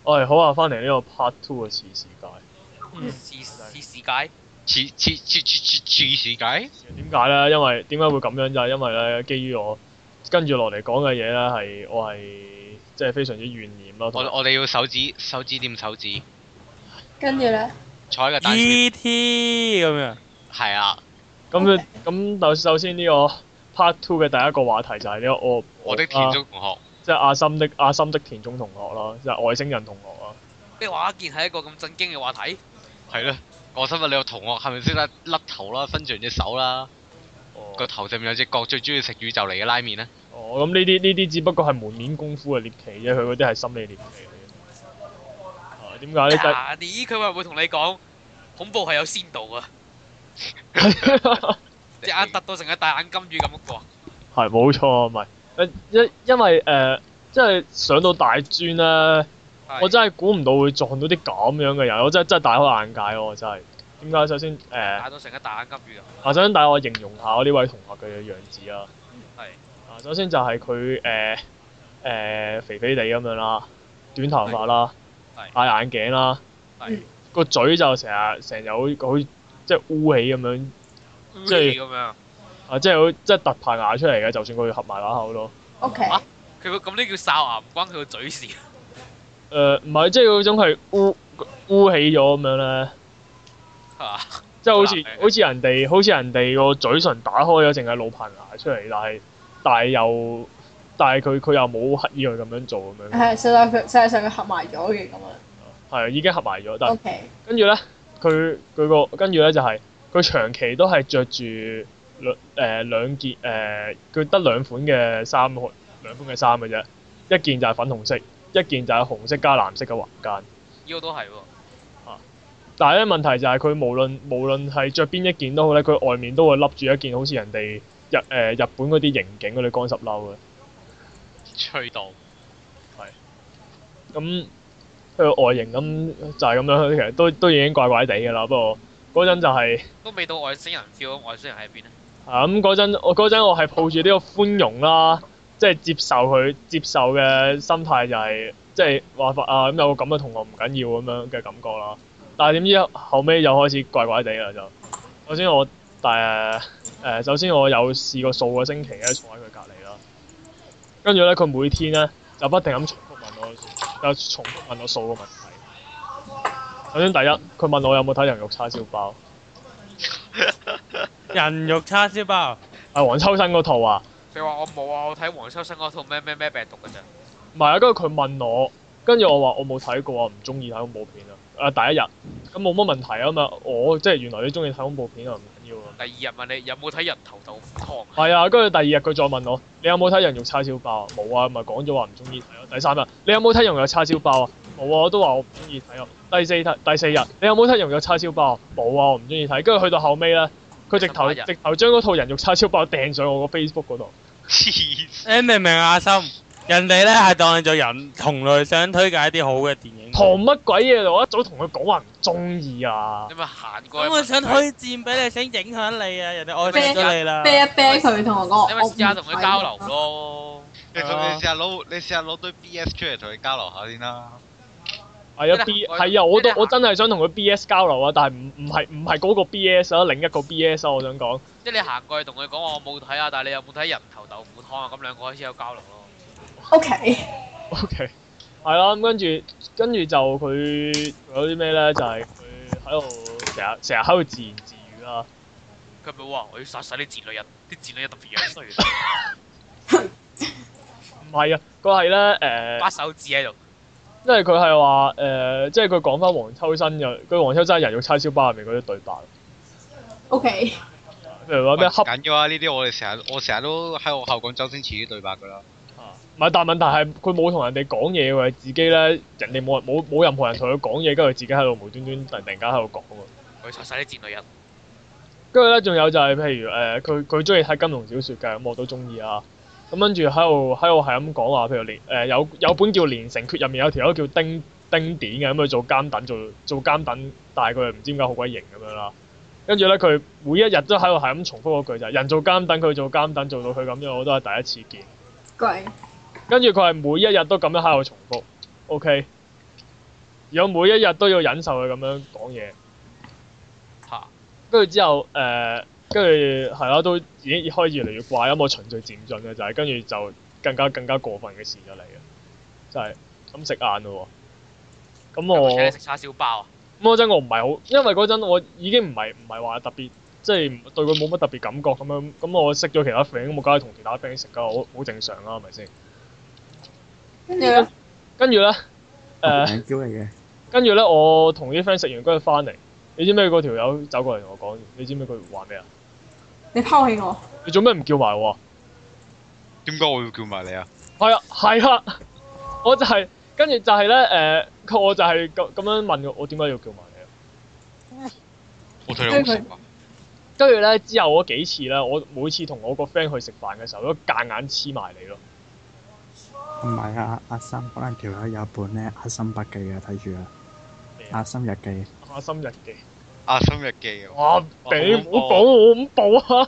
好啊，翻嚟呢個 Part Two 嘅次世界。 次世界？ 次世界？ 點解咧？因為點解會咁樣就係因為咧，基於我跟住落嚟講嘅嘢咧，係我係即係非常之怨念咯。 我哋要手指掂手指。 跟住咧？ 坐喺個單車。 E.T. 咁樣。 係啊。 咁首先呢個 Part Two 嘅第一個話題就係呢個我的田中同學。 即係阿森的田中同學啦，即係外星人同學啦。 咩話？竟然係一個咁震驚嘅話題？ 係咯，我想問你個同學係咪識得甩頭啦、伸長隻手啦？個頭上面有隻角，最中意食宇宙嚟嘅拉麵咧？ 咁呢啲只不過係門面功夫嘅獵奇啫，佢嗰啲係心理獵奇嚟嘅。點解咧？ 佢會唔會同你講恐怖係有先導啊？隻眼突到成個大眼金魚咁嗰個。 係冇錯，唔係因為即係上到大專咧，我真係估唔到會撞到啲咁樣嘅人，我真係大開眼界咯！我真係點解？首先大到成個大眼金魚啊！ 首先帶我形容下我呢位同學嘅樣子啊。 係。 首先就係佢肥肥地咁樣啦，短頭髮啦，戴眼鏡啦，個嘴就成日好即係烏起咁樣，即係咁樣。 即係即係突排牙出嚟嘅，就算佢合埋把口都。 O.K. 佢咁呢叫哨牙，唔關佢個嘴事。 唔係，即係嗰種係烏起咗咁樣咧。即係好似人哋個嘴唇打開咗，淨係露棚牙出嚟，但係佢又冇刻意去咁樣做咁樣。 係，實際上佢合埋咗嘅咁樣。 係已經合埋咗，但係 Okay. 跟住咧，跟住咧就係佢長期都係着住兩件佢得兩款嘅衫嘅啫，一件就係粉紅色，一件就係紅色加藍色嘅橫間。 呢個都係喎。 但係咧問題就係佢無論係着邊一件都好咧，佢外面都會笠住一件好似人哋日本嗰啲刑警嗰啲乾濕褸嘅。 吹到。 係。咁佢個外形咁就係咁樣，其實都已經怪怪地㗎啦。不過嗰陣就係。都未到外星人 feel，外星人喺邊咧？ 咁嗰陣我係抱住呢個寬容啦，即係接受嘅心態就係即係話咁有個咁嘅同學唔緊要咁樣嘅感覺啦。但係點知後尾又開始怪怪地啦就。首先我有試過數個星期咧坐喺佢隔離啦，跟住咧佢每天咧就不停咁重複問我數個問題。首先第一，佢問我有冇睇人肉叉燒包。 人肉叉燒包係黃秋生嗰套啊！ 你話我冇啊，我睇黃秋生嗰套咩病毒㗎咋？ 唔係啊，跟住佢問我，跟住我話我冇睇過啊，唔中意睇恐怖片啊。第一日咁冇乜問題啊嘛，我即係原來你中意睇恐怖片啊，唔緊要啊。 第二日問你有冇睇人頭豆腐湯？ 係啊，跟住第二日佢再問我，你有冇睇人肉叉燒包啊？冇啊，咪講咗話唔中意睇咯。第三日你有冇睇人肉叉燒包啊？冇啊，我都話我唔中意睇啊。第四日你有冇睇人肉叉燒包啊？冇啊，我唔中意睇。跟住去到後尾咧，佢直頭將嗰套人肉叉燒包掟上我個 Facebook 嗰度。 你明唔明啊，阿心？人哋咧係當你做人同類，想推介一啲好嘅電影。 唐乜鬼嘢？我一早同佢講話唔中意啊！ 你咪行過。 咁我想推薦俾你，想影響你啊！人哋愛上咗你啦。 啤一啤佢同我講。 你咪試下同佢交流咯。 你試下攞堆 BS 出嚟同佢交流下先啦。 係啊，我真係想同佢 BS 交流啊，但係唔係嗰個 BS 啊，另一個 BS 啊，我想講。 即係你行過去同佢講話我冇睇啊，但係你有冇睇人頭豆腐湯啊？咁兩個開始有交流咯。 O.K. 係啦，咁跟住就佢有啲咩咧？就係佢喺度成日喺度自言自語啦。 佢咪話我要殺晒啲賤女人，啲賤女人特別樣衰。 唔係啊，佢係咧把手指喺度。 因為佢係話即係佢講翻黃秋生佢黃秋生人肉叉燒包入面嗰啲對白。 O.K. 譬如話咩緊要啊！呢啲我成日都喺學校講周星馳啲對白㗎啦。 唔係，但係問題係佢冇同人哋講嘢喎，自己咧人哋冇任何人同佢講嘢，跟住佢自己喺度無端端突然間喺度講喎。 佢殺晒啲賤女人。 跟住咧，仲有就係譬如佢中意睇金庸小説嘅，咁我都中意啊。咁跟住喺度係咁講話，譬如有本叫《連城訣》，入面有條友叫丁典嘅，咁佢做監躉做監躉，但係佢又唔知點解好鬼型咁樣啦。跟住咧，佢每一日都喺度係咁重複嗰句就係人做監躉，佢做監躉，做到佢咁樣，我都係第一次見。 貴。 跟住佢係每一日都咁樣喺度重複，OK。 而我每一日都要忍受佢咁樣講嘢。 嚇！ 跟住之後跟住係啦，都已經開始越嚟越怪，咁我循序漸進嘅就係跟住就更加過分嘅事就嚟嘅，就係咁食晏咯喎。咁我請你食叉燒包啊！ 咁嗰陣我唔係好，因為嗰陣我已經唔係話特別，即係對佢冇乜特別感覺咁樣。咁我識咗其他 friend，咁我梗係同其他 friend 食㗎，好正常啦，係咪先？ 跟住咧， 跟住咧名叫嚟嘅。 跟住咧，我同啲 friend 食完跟住翻嚟，你知唔知嗰條友走過嚟同我講？你知唔知佢話咩啊？ 你拋棄我， 你做咩唔叫埋我啊？ 點解我要叫埋你啊？ 係啊，我就係跟住就係咧我就係咁樣問我點解要叫埋你啊？ 我睇你好食啊！ 跟住咧之後嗰幾次咧，我每次同我個 friend 去食飯嘅時候，都夾硬黐埋你咯。 唔係啊，阿森可能條友有本咧《阿森筆記》啊，睇住啊，《阿森日記》。 阿森日記。 阿森日記啊！ 哇！你唔好講我恐怖啊！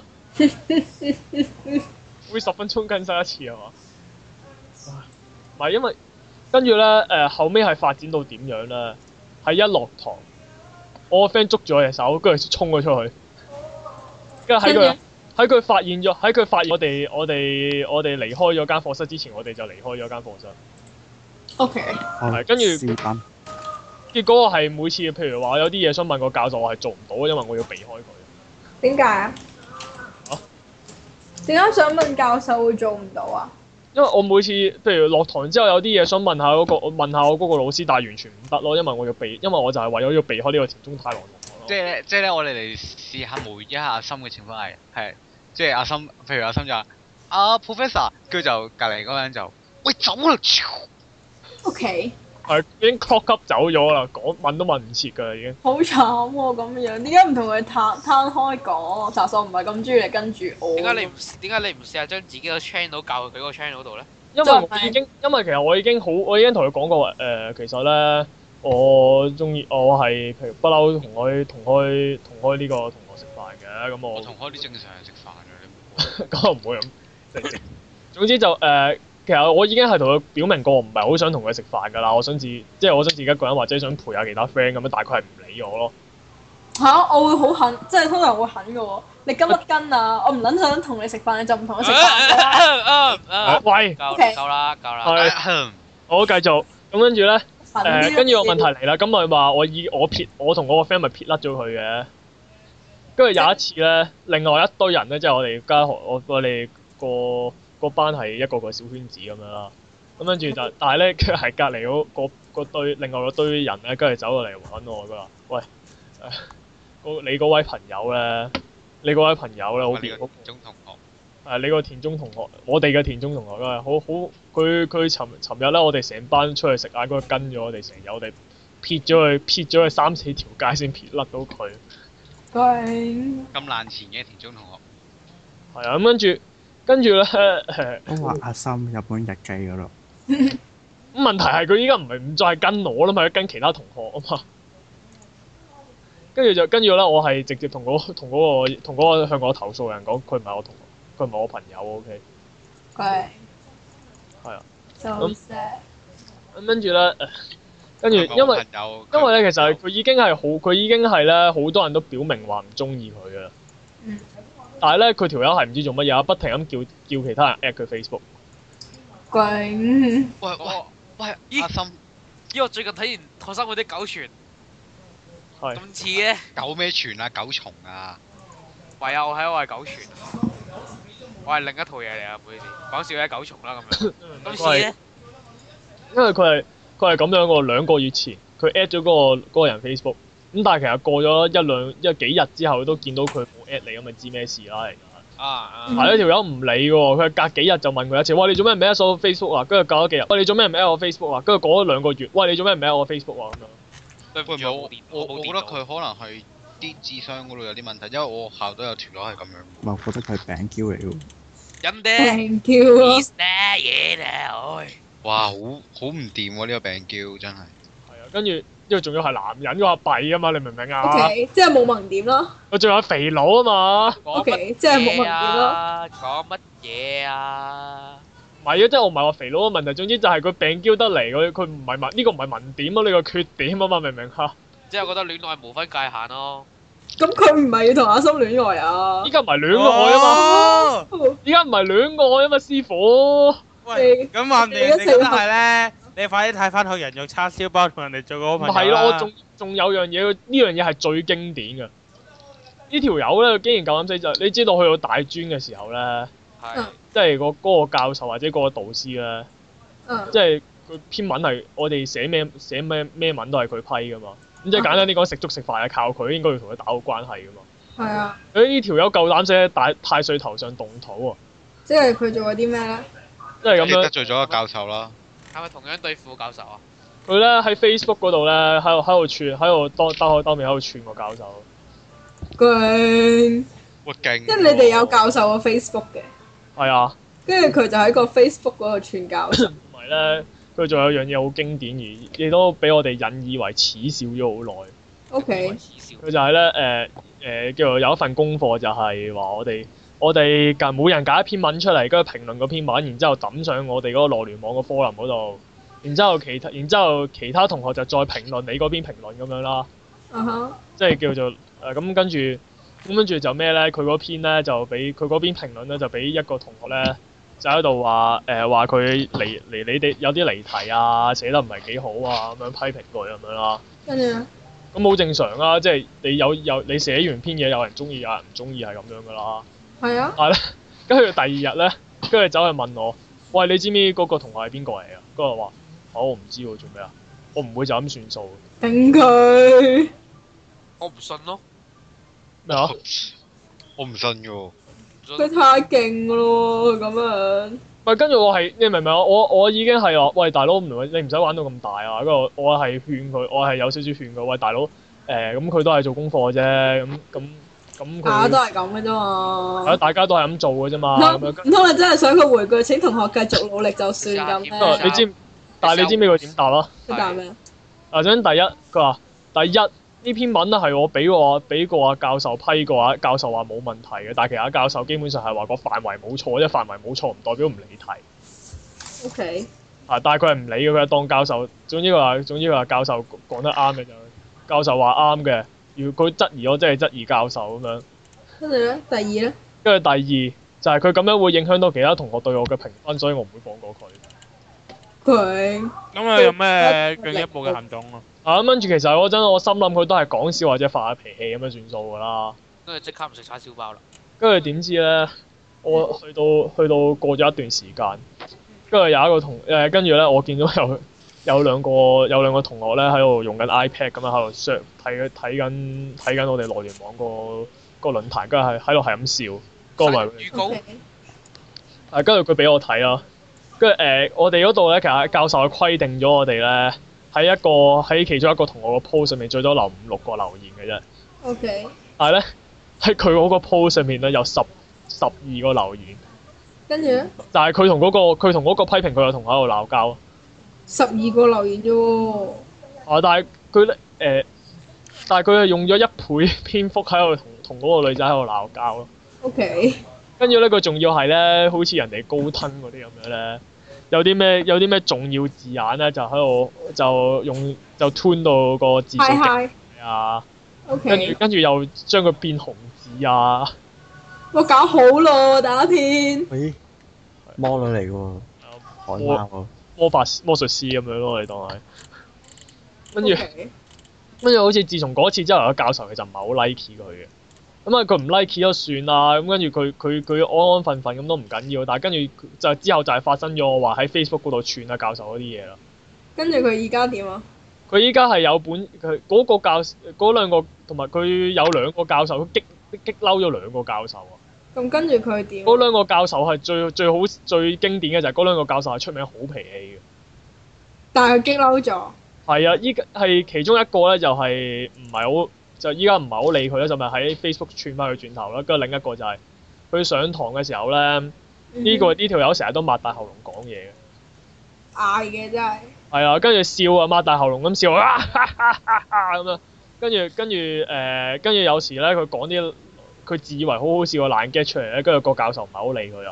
會10分鐘更新一次係嘛？唔係因為跟住咧後尾係發展到點樣咧？係一落堂，我個 friend 捉住我隻手，跟住衝咗出去，跟住喺佢發現我哋離開咗間課室之前，我哋就離開咗間課室。 OK。 係跟住。結果我係每次譬如話有啲嘢想問個教授，我係做唔到，因為我要避開佢。 點解啊？點解想問教授會做唔到啊？ 因為我每次譬如落堂之後有啲嘢想問下我嗰個老師，但係完全唔得咯，因為我就係為咗要避開呢個田中太郎同學咯。 即係咧，我哋嚟試下模擬一下阿森嘅情況係，即係阿森，譬如阿森就話Professor， 跟住就隔離嗰個人就喂走啦 ！OK。 係已經 clock up 走咗啦，問都問唔切㗎啦已經。好慘喎咁樣，點解唔同佢攤開講？查實我唔係咁中意你跟住我。點解你唔試下將自己個 channel 教佢嗰個 channel 度咧？ 因為其實我已經同佢講過其實咧我係譬如不嬲同開呢個同學食飯嘅，咁我同開啲正常人食飯嘅，你咁唔會咁。總之就其實我已經係同佢表明過，我唔係好想同佢食飯㗎啦。我想自己一個人，或者想陪下其他 friend 咁樣，大概係唔理我咯。 嚇！我會好狠，即係通常會狠嘅喎。你跟乜跟啊？我唔撚想同你食飯，你就唔同我食飯。 喂， 夠啦。 係，我繼續。咁跟住咧，跟住個問題嚟啦。咁咪話我同我個 friend 咪撇甩咗佢嘅。跟住有一次咧，另外一堆人咧，即係我哋間學我哋個班係一個小圈子咁樣啦，咁跟住但係咧，佢係隔離嗰堆另外嗰堆人咧，跟住走過嚟揾我㗎啦。喂，你嗰位朋友咧，好田中同學，你個田中同學，我哋嘅田中同學啦，好佢尋日咧，我哋成班出去食晏，嗰度跟咗我哋成日，我哋撇咗佢3-4條街先撇甩到佢。 咁爛錢嘅田中同學。 係啊，咁跟住咧， 都話阿森日本日記嗰度。 咁問題係佢依家唔再係跟我啦嘛，跟其他同學啊嘛。跟住咧，我係直接同嗰個向我投訴嘅人講，佢唔係我同學，佢唔係我朋友 ，OK。 係。 係啊。 咁跟住咧，因為咧，其實佢已經係咧，好多人都表明話唔中意佢嘅。但係咧，佢條友係唔知做乜嘢，不停咁叫其他人 at 佢 Facebook。 喂，阿森， 我最近睇完學生會啲狗傳，咁似嘅。 狗咩傳啊？狗蟲啊？ 唯有我係狗傳，我係另一套嘢嚟啊！唔好意思，講笑嘅狗蟲啦咁樣。咁似嘅。 因為佢係咁樣喎，2個月前佢 at 咗嗰個人 Facebook。咁但係其實過咗幾日之後，都見到佢冇 at 你，咁咪知咩事啦？係呢條友唔理喎，佢隔幾日就問佢一次，喂，你做咩唔 at 我 Facebook 啊？跟住隔咗幾日，喂，你做咩唔 at 我 Facebook 啊？跟住過咗2個月，喂，你做咩唔 at 我 Facebook 啊？咁樣。 對唔住，我覺得佢可能係啲智商嗰度有啲問題，因為我學校都有條友係咁樣。 我覺得佢係餅嬌嚟喎。 人哋餅嬌啊！ 哇，好唔掂喎！呢個餅嬌真係。 係啊，跟住因為仲要係男人，話弊啊嘛，你明唔明啊 ？OK，即係冇萌點咯。 佢仲有肥佬啊嘛。 OK，即係冇萌點咯。 講乜嘢啊？ 唔係啊，即係我唔係話肥佬嘅問題，總之就係佢病嬌得嚟，佢唔係文呢個唔係文點啊，呢個缺點啊嘛，明唔明嚇？ 即係覺得戀愛無分界限咯。 咁佢唔係要同阿森戀愛啊？ 依家唔係戀愛啊嘛， 哦依家唔係戀愛啊嘛，師傅。 喂，咁話唔定人哋覺得係咧，你快啲睇翻佢人肉叉燒包同人哋做個好唔朋友係咯，我啦。 仲有樣嘢，呢樣嘢係最經典嘅。呢條友咧，竟然夠膽死就，你知道去到大專嘅時候咧， 係。 即係嗰個教授或者嗰個導師咧，即係佢篇文係我哋寫咩文都係佢批噶嘛。咁即係簡單啲講，食粥食飯係靠佢，應該要同佢打好關係噶嘛。 係啊。 呢條友夠膽死喺太歲頭上動土喎！ 即係佢做過啲咩咧？ 即係咁樣得罪咗個教授啦。 係咪同樣對付教授啊？ 佢咧喺 Facebook 嗰度咧，喺度串，喺度當面喺度串個教授。 勁！ 哇勁！ 即係你哋有教授個 Facebook 嘅。 係啊。 跟住佢就喺個 Facebook 嗰度串教授。 同埋咧，佢仲有樣嘢好經典，而亦都俾我哋引以為恥笑咗好耐。 O.K. 佢就係咧叫做有一份功課，就係話我哋每人揀一篇文出嚟，跟住評論嗰篇文，然之後抌上我哋嗰個內聯網個 forum 嗰度，然之後其他同學就再評論你嗰邊評論咁樣啦。即係叫做咁跟住就咩咧？佢嗰篇咧就俾佢嗰邊評論咧就俾一個同學咧就喺度話佢離你哋有啲離題啊，寫得唔係幾好啊，咁樣批評佢咁樣啦。 跟住咧。 咁好正常啊，即係你你寫完篇嘢，有人中意，有人唔中意，係咁樣噶啦。係啊。但係咧，跟住第二日咧，跟住走去問我，喂，你知唔知嗰個同學係邊個嚟啊？跟住我話，我唔知喎，做咩啊？我唔會就咁算數。 頂佢！ 我唔信咯。 咩啊？ 我唔信㗎喎。 佢太勁咯，咁樣。 喂，跟住你明唔明啊？我已經係話，喂大佬，你唔使玩到咁大啊！跟住我係勸佢，我係有少少勸佢，喂大佬，咁佢都係做功課啫，咁大家都係咁嘅啫嘛。 大家都係咁做嘅啫嘛。 唔通你真係想佢回句？請同學繼續努力就算咁咩？ 你知，但係你知唔知佢點答啊？ 佢答咩？ 首先第一，佢話第一。呢篇文咧係我俾個教授批過，教授話冇問題嘅，但係其他教授基本上係話個範圍冇錯，即係範圍冇錯唔代表唔理題。 O.K. 但係佢係唔理嘅，佢係當教授。總之佢話教授講得啱嘅就，教授話啱嘅。如果佢質疑我，即係質疑教授咁樣。 跟住咧，第二咧？ 跟住第二就係佢咁樣會影響到其他同學對我嘅評分，所以我唔會放過佢。 佢咁啊，有咩進一步嘅行動啊？ 咁跟住其實嗰陣我心諗佢都係講笑或者發下脾氣咁樣算數㗎啦。 跟住即刻唔食叉燒包啦。 跟住點知咧？我去到過咗一段時間，跟住有一個跟住咧我見到有兩個同學咧喺度用緊 iPad 咁樣喺度睇緊我哋內聯網個論壇，跟住喺度係咁笑。嗰個咪預告。 跟住佢俾我睇啦。跟住我哋嗰度咧，其實教授係規定咗我哋咧喺其中一個同學個 post 上面最多留5-6個留言嘅啫。 O.K. 但係咧喺佢嗰個 post 上面咧有12個留言。 跟住咧？ 但係佢同嗰個批評佢嘅同學喺度鬧交。 12個留言啫喎。 但係佢係用咗1倍篇幅喺度同嗰個女仔喺度鬧交咯。 O.K. 跟住咧，佢仲要係咧，好似人哋高登嗰啲咁樣咧，有啲咩重要字眼咧，就喺度就 tune 到個字數極啊。 O.K. 跟住又將佢變紅字啊。 我搞好咯，打天。 咦？魔女嚟嘅喎，海貓喎。 魔術師咁樣咯，你當係。跟住好似自從嗰次之後，個教授其實唔係好 like 佢嘅。咁佢唔 like 都算啦，咁跟住佢安安分分咁都唔緊要，但係跟住就之後就係發生咗我話喺 Facebook 嗰度串啊教授嗰啲嘢啦。 跟住佢而家點啊？ 佢依家係有本佢嗰個嗰兩個同埋佢有2個教授，佢激嬲咗2個教授啊！ 咁跟住佢點？ 嗰2個教授係最經典嘅就係嗰2個教授係出名好脾氣嘅。 但係佢激嬲咗。係啊，依家係其中一個咧，就係唔係好。就依家唔係好理佢啦，就咪喺 Facebook 串翻佢轉頭啦。跟住另一個就係佢上堂嘅時候咧，呢條友成日都擘大喉嚨講嘢嘅。 嗌嘅真係。係啊，跟住笑啊，擘大喉嚨咁笑啊，咁樣。跟住有時咧，佢講啲佢自以為好好笑嘅爛 get 出嚟咧，跟住個教授唔係好理佢啊。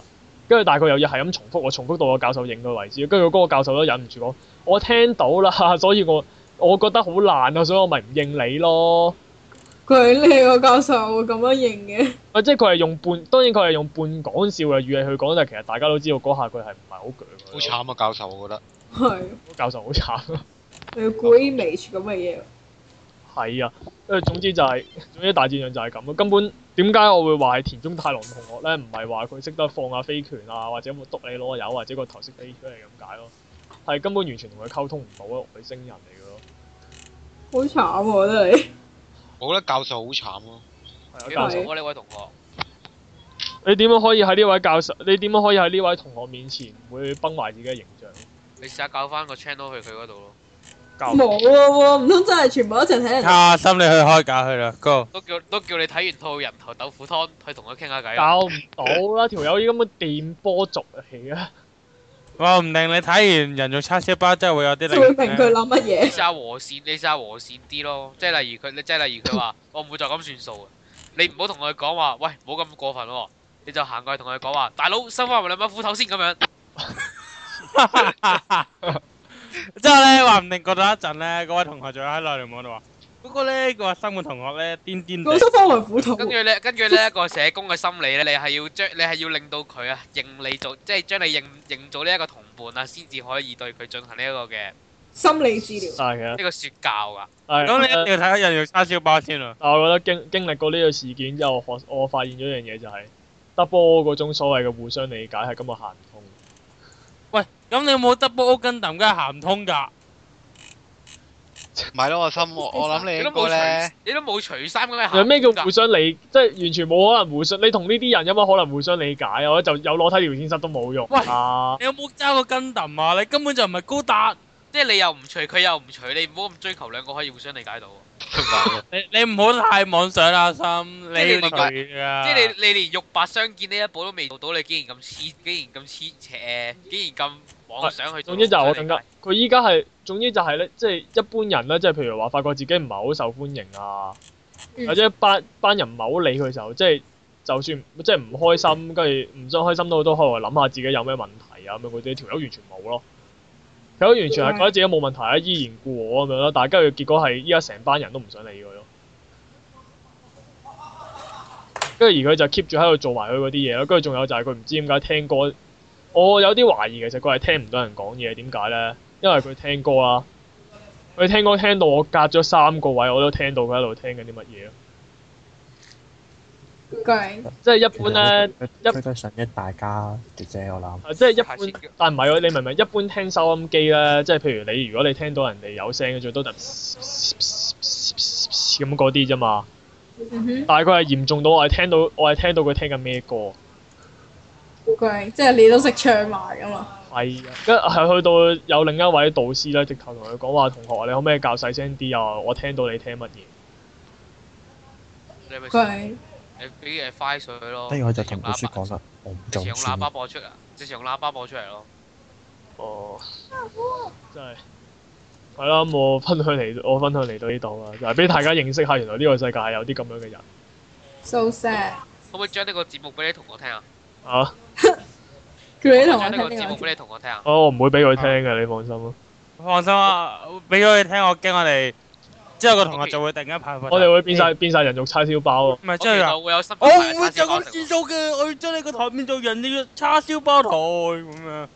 跟住但係佢又要係咁重複到個教授認嘅為止，跟住嗰個教授都忍唔住講：我聽到啦，所以我覺得好爛啊，所以我咪唔認你咯。 佢呢個教授會咁樣認嘅？ 即係佢係當然佢係用半講笑嘅語氣去講，但係其實大家都知道嗰下佢係唔係好鋸。 好慘啊！教授，我覺得係。 教授好慘。 你要 Greenwich 咁嘅嘢。 係啊，總之大戰仗就係咁咯。根本點解我會話係田中太郎同學咧？唔係話佢識得放下飛拳啊，或者會篤你攞油，或者個頭識飛出嚟咁解咯。係根本完全同佢溝通唔到咯，外星人嚟嘅咯。 好慘喎！真係。 我覺得教授好慘咯。 幾教授啊呢位同學？ 你點樣可以喺呢位教授？你點樣可以喺呢位同學面前唔會崩壞自己嘅形象？ 你試下教翻個 channel 去佢嗰度咯。 冇喎，唔通真係全部一齊睇人？ 阿心，你去開架去啦，Go！ 都叫你睇完套人頭豆腐湯，去同佢傾下偈。 教唔到啦，條友依咁嘅電波族嚟嘅。 話唔定你睇完人肉叉燒包真係會有啲就會明佢諗乜嘢。 你試下和善啲咯，即係例如佢話我唔會再咁算數嘅，你唔好同佢講話，喂，唔好咁過分喎，你就行過去同佢講話，大佬收翻埋兩把斧頭先咁樣。 之後咧，話唔定過咗一陣咧，嗰位同學就喺內聯網度話：嗰個咧個生活同學咧癲癲地。 我收翻埋斧頭。 跟住呢一個社工嘅心理咧，你係要令到佢啊認你做，即係將你認做呢一個同伴啊，先至可以對佢進行呢一個嘅心理治療。 係嘅。 呢個説教㗎。 咁你一定要睇下人肉叉燒包先啊！ 但我覺得經歷過呢個事件之後，我發現咗一樣嘢就係 double 嗰種所謂嘅互相理解係根本行唔通。 喂，咁你有冇 double O 跟揼梗係行唔通㗎？ 唔係咯，我諗你應該咧， 你都冇除衫咁樣。 有咩叫互相理？即係完全冇可能互相。你同呢啲人有乜可能互相理解啊？我就有裸體聊天室都冇用。 喂啊！ 你有冇揸過跟揼啊？你根本就唔係高達。 即係你又唔除，佢又唔除，你唔好咁追求兩個可以互相理解到。 你唔好太妄想啦，心。你要除啊！ 即係你連肉帛相見呢一步都未做到，你竟然咁邪，竟然咁妄想去做。 總之就係我更加，佢依家係總之就係咧，即係一般人咧，即係譬如話發覺自己唔係好受歡迎啊，或者班人唔係好理佢嘅時候，即係就算即係唔開心，跟住唔想開心都可能諗下自己有咩問題啊咁樣嗰啲，條友完全冇咯。條友完全係覺得自己冇問題啊，依然故我咁樣咯，但係跟住結果係依家成班人都唔想理佢咯。跟住而佢就 keep 住喺度做埋佢嗰啲嘢咯，跟住仲有就係佢唔知點解聽歌，我有啲懷疑其實佢係聽唔到人講嘢，點解咧？因為佢聽歌啦，佢聽歌聽到我隔咗3個位，我都聽到佢喺度聽緊啲乜嘢咯。即係一般咧， 佢都想益大家嘅啫，我諗。 即係一般，但唔係喎，你明唔明？一般聽收音機咧，即係譬如你如果你聽到人哋有聲嘅，最多就咁嗰啲啫嘛。但係佢係嚴重到我係聽到佢聽緊咩歌。 即係你都識唱埋㗎嘛？ 係啊，跟係去到有另一位導師咧，直頭同佢講話：同學，你可唔可以較細聲啲啊？我聽到你聽乜嘢。 你俾快水咯。 跟住我就同老師講啦，我唔做。 直情用喇叭播出啊！直情用喇叭播出嚟咯。 哦，真係係啦，我分享嚟到呢度啦，就係俾大家認識下，原來呢個世界係有啲咁樣嘅人。 So sad。 可唔可以將呢個節目俾你同學聽啊？ 啊？ 叫你同我聽呢個節目俾你同學聽啊？ 我唔會俾佢聽嘅，你放心咯。 放心啊，俾咗佢聽，我驚我哋之後個同學就會突然間派。 我哋會變晒人肉叉燒包咯。 唔係真係㗎， 會有新我唔會就咁轉數嘅，我要將你個台變做人肉叉燒包台咁樣。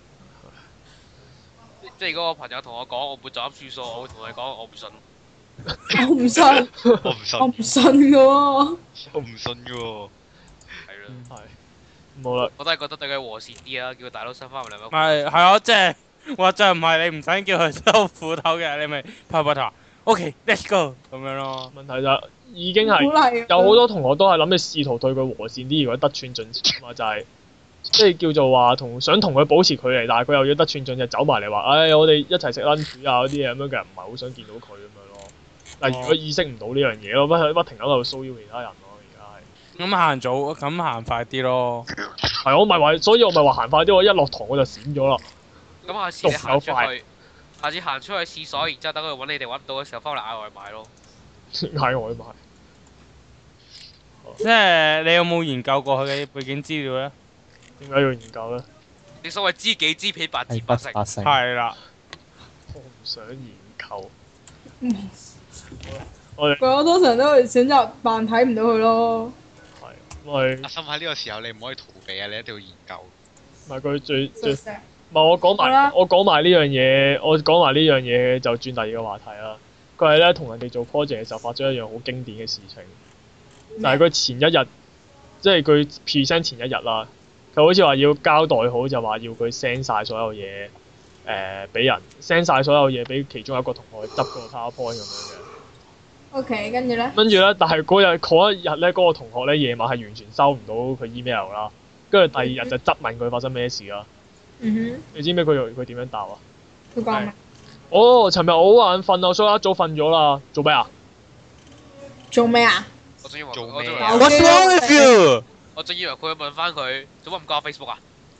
即係如果我朋友同我講，我唔會就咁轉數，我會同佢講，我唔信。 我唔信。 我唔信。 我唔信嘅喎。 我唔信嘅喎。 係咯。 係。冇啦。 我都係覺得對佢和善啲啦，叫佢大佬收翻埋兩個。 係啊，即係或者唔係你唔想叫佢收斧頭嘅，你咪拍膊頭。OK，let's go 咁樣咯。 問題就已經係有好多同學都係諗住試圖對佢和善啲，如果得寸進尺嘛，就係即係叫做話想同佢保持距離，但係佢又要得寸進尺走埋嚟話，我哋一齊食 lunch 啊嗰啲嘢咁樣嘅人，唔係好想見到佢咁樣咯。但係如果意識唔到呢樣嘢咯，不停喺度騷擾其他人咯，而家係。咁行早，咁行快啲咯。 係我咪話，所以我咪話行快啲，我一落堂我就閃咗啦。 咁下次你行出去。下次行出去廁所，然之後等佢揾你哋揾唔到嘅時候，翻嚟嗌外賣咯。 嗌外賣。 即係你有冇研究過佢嘅背景資料咧？ 點解要研究咧？ 你所謂知己知彼，百戰係百勝。 不發性。 係啦， 我唔想研究。 嗯我哋我通常都會選擇扮睇唔到佢咯。 係，因為阿心喺呢個時候你唔可以逃避啊！你一定要研究。 唔係佢最食食唔係我講好啦埋我講埋呢樣嘢，我講埋呢樣嘢就轉第二個話題啦。佢係咧同人哋做 project 嘅時候發咗一樣好經典嘅事情，就係佢前一日，即係佢 present 前一日啦，佢好似話要交代好，就話要佢 send 晒所有嘢俾人 send 晒所有嘢俾其中一個同學去執個 PowerPoint 咁樣嘅。 OK，跟住咧， 跟住咧，但係嗰一日咧，嗰個同學咧夜晚係完全收唔到佢 email 啦。跟住第二日就質問佢發生咩事啦。 嗯你知唔知佢點樣答啊？ 哼，佢講咩？ 哦，尋日我好眼瞓啊，所以一早瞓咗啦。做咩啊？ 做咩啊？ 我仲以為做我仲以為咩啊 What's wrong with you？ 我仲以為佢會問翻佢做乜唔加 Facebook 啊？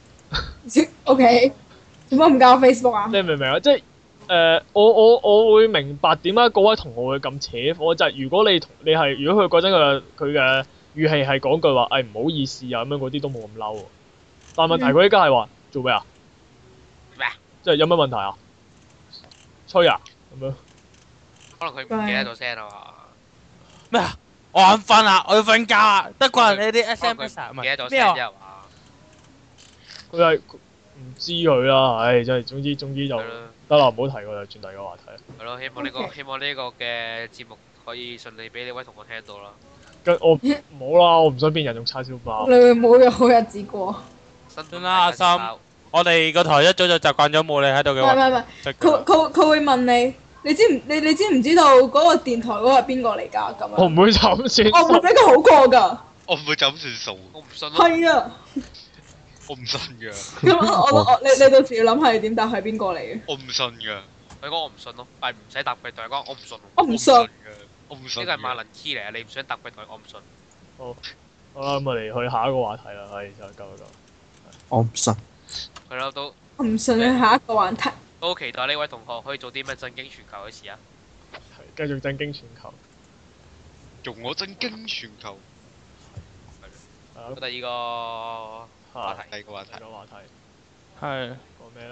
OK，做乜唔教 Facebook 啊？ 你明唔明啊？即係我會明白點解嗰位同學會咁扯火，就係、如果你係如果佢嗰陣佢嘅語氣係講句話，唔好意思啊咁樣嗰啲都冇咁嬲喎。但係問題佢依家係話做咩啊？ 咩啊？ 即係有乜問題啊？吹啊咁樣。 可能佢唔記得咗聲啊嘛。 咩啊？我眼瞓啊，我要瞓覺啊，得怪你啲可能佢 SMS 啊，唔唔記得咗係咩啊？ 聲啫係嘛？ 佢係唔知佢啦，真係總之就係咯， 得啦，唔好提佢啦，轉第二個話題。 係咯，希望呢個 OK 希望呢個嘅節目可以順利俾呢位同學聽到啦。 跟我冇啦，我唔想變人用叉燒包你。會冇有好日子過？ 新算啦阿心我哋個台一早就習慣咗冇你喺度嘅話， 唔係唔係唔係，佢會問你，你知唔知道嗰個電台嗰個係邊個嚟㗎？咁樣， 我唔會就咁算我唔會俾佢好過㗎。 我唔會就咁算數， 我唔信咯。 係啊， 我唔信㗎， 咁你到時要諗係點答係邊個嚟嘅？ 我唔信㗎， 佢講我唔信咯，係唔使答佢，同佢講我唔信。 我唔信。 㗎，我唔信㗎。 呢個係萬能 key 嚟啊！你唔想答佢，同佢講我唔信。 好啦，咁我哋去下一個話題啦，就夠啦。 我唔信。 係咯，都我唔信你下一個話題。 都好期待呢位同學可以做啲咩震驚全球嘅事啊！ 係繼續震驚全球。 用我震驚全球。 係啦， 咁第二個話題第二個話題第二，個話題係講咩咧？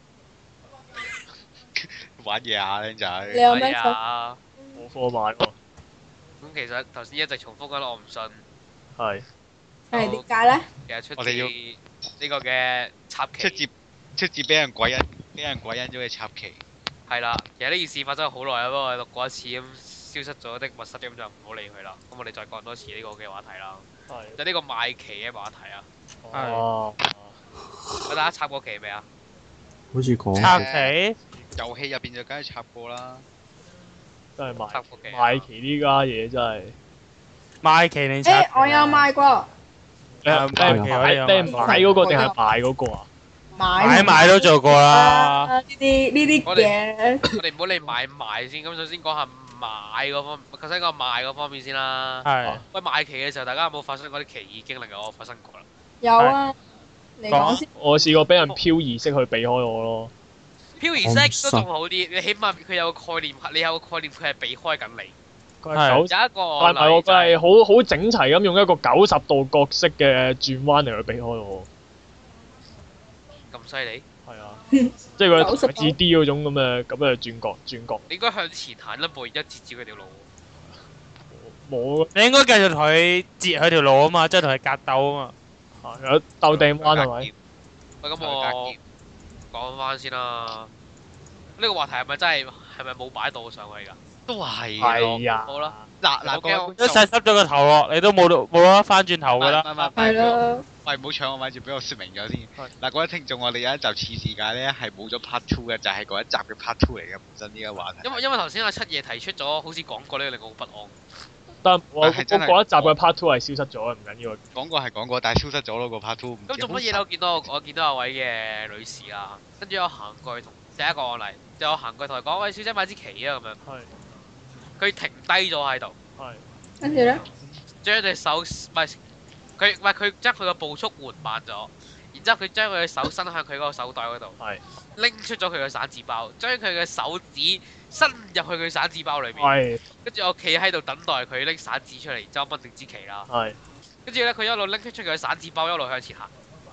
玩嘢啊，僆你仔。 有咩想？ 啊？ 冇貨買喎。 咁其實頭先一直重複緊我唔信， 係。 係點解咧？ 其實出我哋要自呢個嘅插旗出自俾人鬼因咗嘅插旗。 係啦。其實呢件事發生咗好耐啦，不過我錄過一次咁消失咗的密室咁就唔好理佢啦。咁我哋再講多次呢個嘅話題啦， 係。 就呢個賣旗嘅話題啊！ 哦。 大家插過旗未啊？ 好似講插過旗， 遊戲入邊就梗係插過啦。 真係賣插過旗啊。 賣旗呢家嘢真係。 賣旗定插旗啊？ 我有買過， 你係賣旗我哋有買嗰個定係賣嗰個啊？ 買賣都做過啦。 呢啲我嘢， 我哋唔好理買唔賣先，咁首先講下買嗰方，頭先講賣嗰方面先啦。 係喂，賣旗嘅時候，大家有冇發生過啲奇異經歷啊？我發生過啦。 有啊，你講先。 我試過俾人漂移式去避開我咯。 漂移式都仲好啲，你起碼佢有個概念，你有個概念佢係避開緊你。 佢係有一個但係我佢係好整齊咁用一個90度角色嘅轉彎嚟去避開我。 咁犀利， 係啊，即係佢 90度自 D 嗰種咁嘅轉角。 你應該向前行一步，一截住佢條路。 冇你應該繼續同佢截佢條路啊嘛，即係同佢格鬥啊嘛。 有鬥掟彎係咪？ 喂，咁我講翻先啦。呢個話題係咪真係冇擺到上去㗎？ 都係係啊。 好啦， 嗱，各位觀眾一細濕咗個頭落，你都冇得翻轉頭噶啦。 係啦， 喂，唔好搶我咪住，俾我説明咗先。嗱，各位聽眾，我哋有一集次世界咧係冇咗 part two 嘅，就係嗰一集嘅 part two 嚟嘅，本身呢個話題。 因為頭先阿七爺提出咗，好似講過呢個令我好不安。 但我係真係嗰一集嘅 part two 係消失咗嘅，唔緊要。 講過係講過，但係消失咗咯個 part two。 咁做乜嘢咧？我見到有位嘅女士啦，跟住我行過去同第一個案例，就我行過去同佢講：喂，小姐買支旗啊！咁樣， 係佢停低咗喺度， 係。 跟住咧， 將隻手佢將佢個步速緩慢咗，然之後佢將佢嘅手伸向佢嗰個手袋嗰度， 係拎出咗佢嘅散紙包，將佢嘅手指伸入去佢散紙包裏面， 係跟住我企喺度等待佢拎散紙出嚟，然之後掹定支旗啦。 係。 跟住咧，佢一路拎出佢嘅散紙包，一路向前行。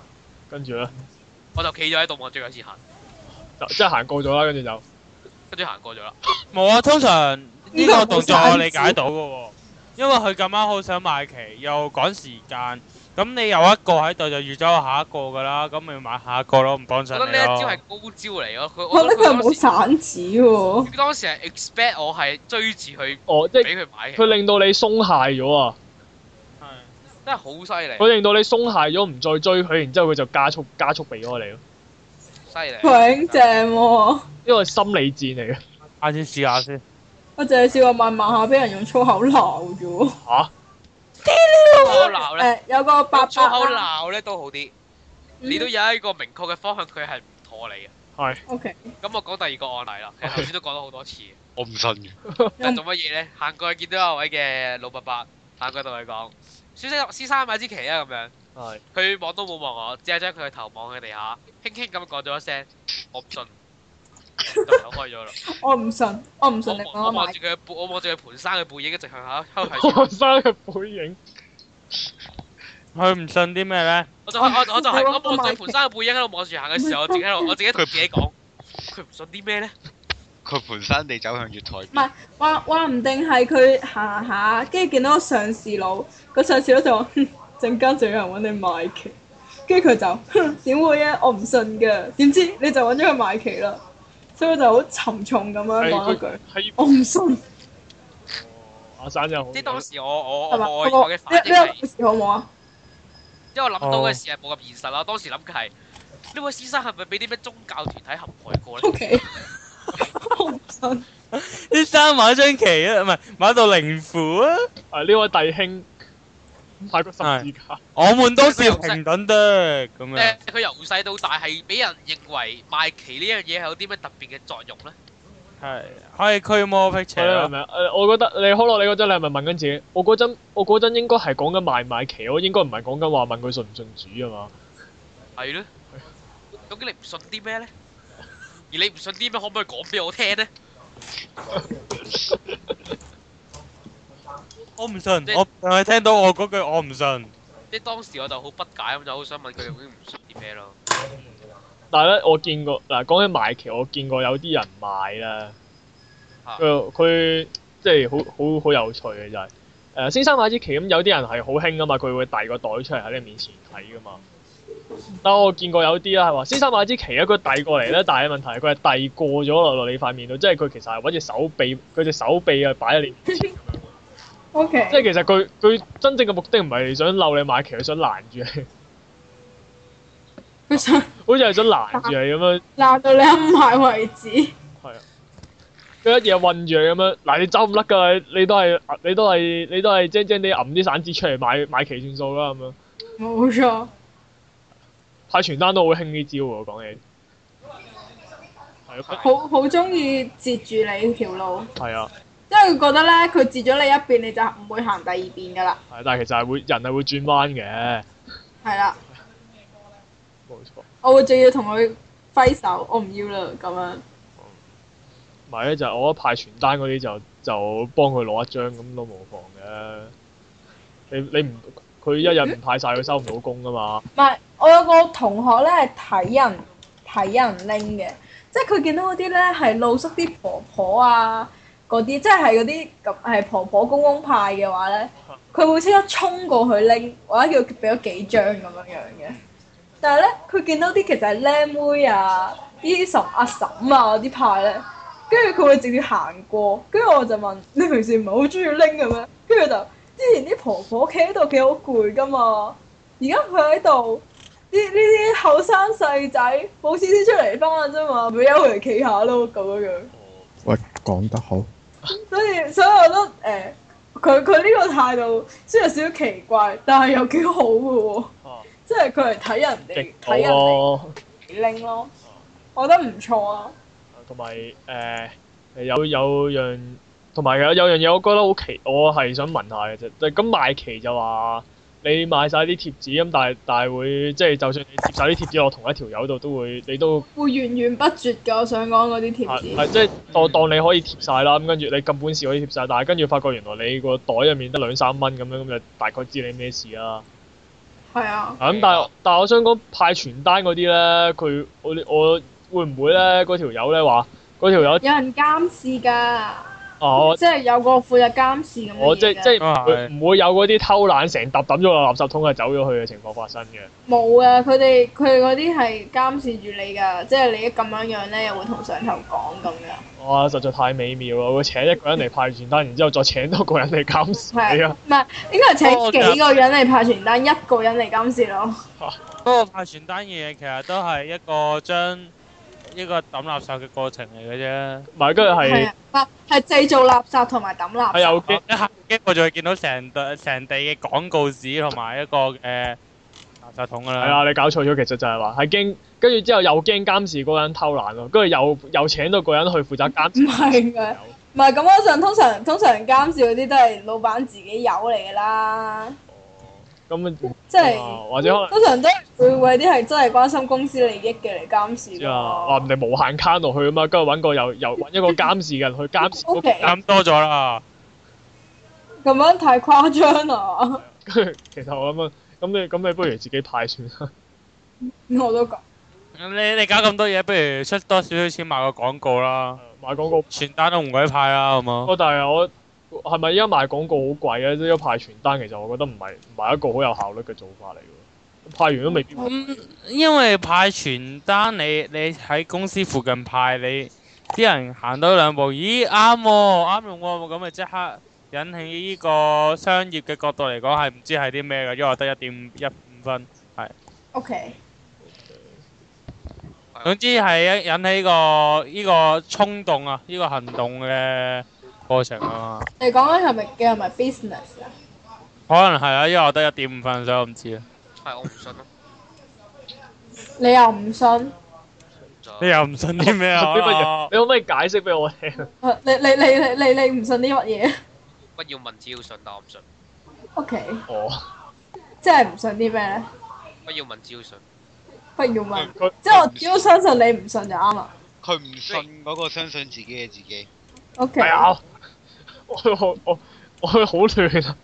跟住咧我就企咗喺度望住佢先行， 就即係行過咗啦，跟住行過咗啦。 冇啊，通常呢個動作我理解到嘅喎，因為佢咁啱好想買旗，又趕時間，咁你有一個喺度就預咗有下一個㗎啦，咁咪買下一個咯，唔幫我襯你覺得呢一招咯。 係高招嚟咯，佢我覺得佢冇當散紙喎。 時佢當時係 expect 我係追住佢哦，即係俾佢買佢令到你鬆懈咗啊！ 係真係好犀利， 佢令到你鬆懈咗，唔再追佢，然之後佢就加速避開你咯。 犀利。 強正喎！ 呢個係心理戰嚟嘅。 下次試下先。 我淨係試過慢慢下俾人用粗口鬧啫喎。 嚇！ 粗口鬧咧， 有個伯粗口伯啦。 鬧咧都好啲，你都有一個明確嘅方向，佢係唔妥你嘅。 係。 O K。 咁我講第二個案例啦，其實頭先都講咗好多次。 我唔信嘅。 係做乜嘢咧？行過去見到有位嘅老伯伯，行過去同佢講：先生買支旗啊！咁樣。 係。 佢望都冇望我，只係將佢嘅頭望喺地下，輕輕咁講咗一聲：我唔信。就走開咗啦。 我唔信，我唔信你講我我買。 望住佢，我望住佢盤生嘅背影，一直向下向後學生嘅背影。 佢唔信啲咩咧？ 我就係我望住盤生嘅背影喺度望住行嘅時候，我自己同自己講：佢唔信啲咩咧？ 佢盤山地走向月台唔係話唔定係佢行下，跟住見到個上士佬，個上士佬就話：陣間就有人揾你買旗，跟住佢就點會啊？我唔信㗎，點知你就揾咗佢買旗啦，所以佢就好沉重咁樣講一句：我唔信。 阿生真係好。 即係當時係嘛？ 我嘅反應係， 呢個故事好唔好啊？ 因為我諗到嘅事係冇咁現實啦。當時諗嘅係呢位先生係咪俾啲咩宗教團體陷害過咧 O K。我唔信。 啲衫買張旗啊，唔係買到靈符啊！ 呢位弟兄買個十字架。 我們都是平等的咁樣。 佢由細到大係俾人認為賣旗呢樣嘢係有啲咩特別嘅作用咧？ 係可以驅魔辟邪咯。 係咪？我覺得你可樂，你嗰陣你係咪問緊自己？我嗰陣應該係講緊賣唔賣旗，我應該唔係講緊話問佢信唔信主啊嘛。 係咯。究竟你唔信啲咩咧？而你唔信啲咩，可唔可以講俾我聽咧？ 我唔信，我淨係聽到我嗰句我唔信。 即係當時我就好不解咁，就好想問佢究竟唔信啲咩咯。 但係咧，我見過嗱，講起賣旗，我見過有啲人賣啦。佢即係好有趣嘅就係先生買支旗咁，有啲人係好興噶嘛，佢會遞個袋出嚟喺你面前睇噶嘛。但我見過有啲啦係話，先生買支旗咧，佢遞過嚟咧，但係問題係佢係遞過咗落你塊面度，即係佢其實係揾隻手臂，佢隻手臂啊擺喺你面前咁樣。 O K。 即係其實佢真正嘅目的唔係想嬲你買旗，佢想攔住你。 佢想好似係想攔住你咁樣。 鬧到你冚埋為止。 係啊。佢一嘢韞住你咁樣，嗱你走唔甩㗎，你都係精精地揞啲散紙出嚟買旗算數啦咁樣。 冇錯。 派傳單都好興呢招喎，講起。係好中意截住你條路。 係啊。 因為佢覺得咧，佢截咗你一邊，你就唔會行第二邊㗎啦。 係，但係其實人係會轉彎嘅。 係啦。 冇錯。 我會仲要同佢揮手，我唔要啦咁樣。 唔係咧，就係我覺得派傳單嗰啲就幫佢攞一張咁都冇妨嘅。你唔佢一日唔派晒，佢收唔到工㗎嘛。 唔係，我有個同學咧係睇人拎嘅，即係佢見到嗰啲咧係露宿啲婆婆啊嗰啲，即係嗰啲咁係婆婆公公派嘅話咧，佢會即刻衝過去拎，或者叫佢俾咗幾張咁樣樣嘅。但係咧，佢見到啲其實係靚妹啊、啲阿嬸啊嗰啲派咧，跟住佢會直接行過，跟住我就問：你平時唔係好中意拎嘅咩？跟住就之前啲婆婆企喺度幾好攰㗎嘛，而家佢喺度，呢啲後生細仔冇錢先出嚟翻嘅啫嘛，咪由佢哋企下咯咁樣樣。 喂，講得好。 所以我覺得佢呢個態度雖然有少少奇怪，但係又幾好嘅喎。即係佢係睇人哋睇人哋拎咯，我覺得唔錯啊。 同埋有樣，同埋有樣嘢，我覺得好奇，我係想問下嘅啫。咁賣旗就話你買晒啲貼紙咁，但係會即係就算你貼晒啲貼紙落同一條友度，你都會源源不絕㗎。我想講嗰啲貼紙。 係即係當你可以貼晒啦，咁跟住你咁本事可以貼晒，但係跟住發覺原來你個袋入面得2-3蚊咁樣，咁就大概知你咩事啦。 係啊。 咁但係我想講派傳單嗰啲咧，我會唔會咧嗰條友咧話嗰條友有人監視㗎。 哦， 即係有個負責監視咁嘅我即嘢㗎。 係唔會有嗰啲偷懶成沓抌咗落垃圾桶就走咗去嘅情況發生嘅。 冇啊！佢哋嗰啲係監視住你㗎，即係你一咁樣咧，又會同上頭講咁㗎。 哇！實在太美妙啦！會請一個人嚟派傳單，然之後再請多個人嚟監視你係啊！ 唔係應該係請幾個人嚟派傳單，一個人嚟監視咯。 不過派傳單嘅嘢其實都係一個將一個抌垃圾嘅過程嚟嘅啫。 唔係，跟住係係製造垃圾同埋抌垃圾。 係有機一下機我就會見到成地嘅廣告紙同埋一個垃圾桶㗎啦。 係啊！你搞錯咗，其實就係話係驚，跟住之後又驚監視嗰個人偷懶咯，跟住又請到個人去負責監視。 唔係㗎，唔係咁嗰陣，通常監視嗰啲都係老闆自己有嚟㗎啦。 咁即係或者可能通常都會為啲係真係關心公司利益嘅嚟監視知啊，話人哋無限卡落去啊嘛，跟住揾個又揾一個監視嘅人去監視嗰個 OK 咁多咗啦。 咁樣太誇張啦！ 跟住其實我諗啊，咁你不如自己派算啦。 我都講。 你搞咁多嘢，不如出多少少錢買個廣告啦。 賣廣告， 傳單都唔鬼派啦，好冇？ 但係我係咪而家賣廣告好貴啊？即係派傳單，其實我覺得唔係一個好有效率嘅做法嚟嘅。派完都未必。 因為派傳單，你喺公司附近派，你啲人行多兩步，咦啱喎，啱用喎，咁咪即刻引起呢個商業嘅角度嚟講係唔知係啲咩嘅，因為我得1.15分，係。 OK。 總之係引起呢個衝動啊，呢個行動嘅過程啊嘛。 你講緊係咪 business 啊？ 可能係啊，因為我得1.5分，所以我唔知啊。 係我唔信咯。 你又唔信？ 你又唔信啲咩啊？ 啲乜嘢？你可唔可以解釋俾我聽？ 你唔信啲乜嘢不要問，只要信，但我唔信。 ？OK。 哦。 即係唔信啲咩咧？ 不要問，只要信。 不要問，即係我只要相信你唔信就啱啦。 佢唔信嗰個相信自己嘅自己。 OK。 係啊！我好亂啊！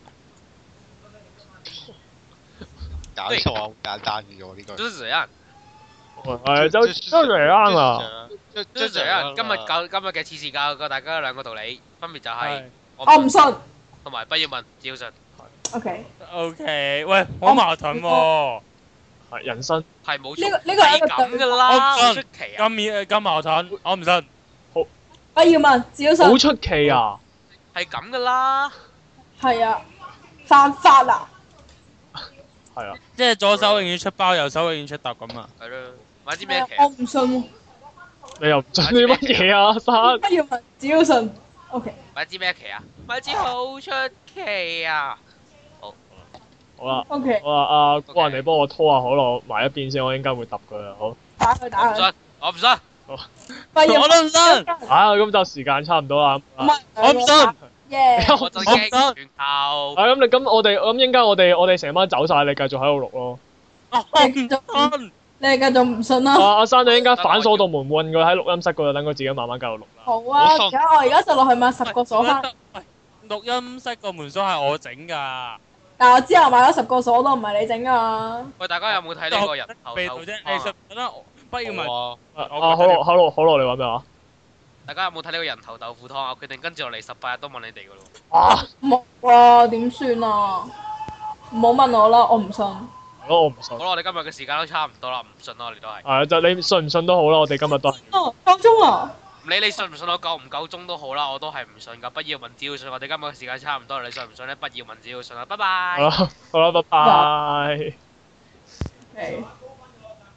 搞錯啊！好簡單嘅啫喎，呢個。 就是這樣。 係真係啱啊！ 就是這樣。今日嘅次事教過大家兩個道理，分別就係我唔信， 同埋不要問，只要信。 OK。 OK，喂，好矛盾喎。 係人生係冇呢個係咁噶啦，好出奇啊！ 咁矛盾，我唔信。 不要問，只要信。 好出奇啊！ 係咁噶啦。 係啊，犯法啊！ 係啊， 即係左手永遠出包，右手永遠出揼咁啊！ 係咯，買支咩旗？ 我唔信喎。 你又唔信啲乜嘢啊？生不要問，只要信。OK。 買支咩旗啊？買支好出奇啊！ 好啦， OK。 我話阿高人，你幫我拖下可樂埋一邊先，我應該會揼佢啊！好。 打佢。 我唔信。 不要。 我都唔信。 咁就時間差唔多啦。 唔係。 我唔信。 耶！ 我就驚全球。 咁我哋應該我哋成班走晒，你繼續喺度錄咯。 你繼續唔信啦。 阿生，你應該反鎖道門運佢喺錄音室嗰度，等佢自己慢慢繼續錄啦。 好啊，我而家就落去買10個鎖翻。 錄音室個門鎖係我整㗎。 但我之後買咗10個鎖都唔係你整㗎。 喂，大家有冇睇呢個人頭味道啫？藝術品啦，不要問。 可樂，你話咩話？ 大家有冇睇呢個人頭豆腐湯啊？我決定跟住落嚟18日都問你哋㗎咯。 冇啊，點算啊？唔好問我啦，我唔信。 我唔信。 好啦，我哋今日嘅時間都差唔多啦，唔信啦，我哋都係。 係就你信唔信都好啦，我哋今日都係。 夠鐘啦。 唔理你信唔信我夠唔夠鐘都好啦，我都係唔信㗎。不要問，只要信。我哋今日嘅時間差唔多啦，你信唔信咧？不要問，只要信啦。拜拜。 好啦，拜拜。 Okay.